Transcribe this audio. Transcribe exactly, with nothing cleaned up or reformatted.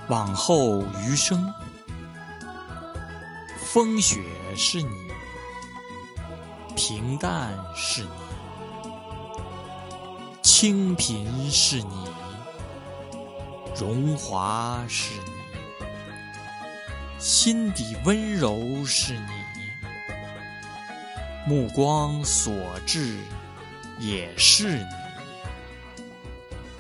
往后余生，风雪是你，平淡是你，清贫是你，荣华是你，心底温柔是你，目光所至也是你。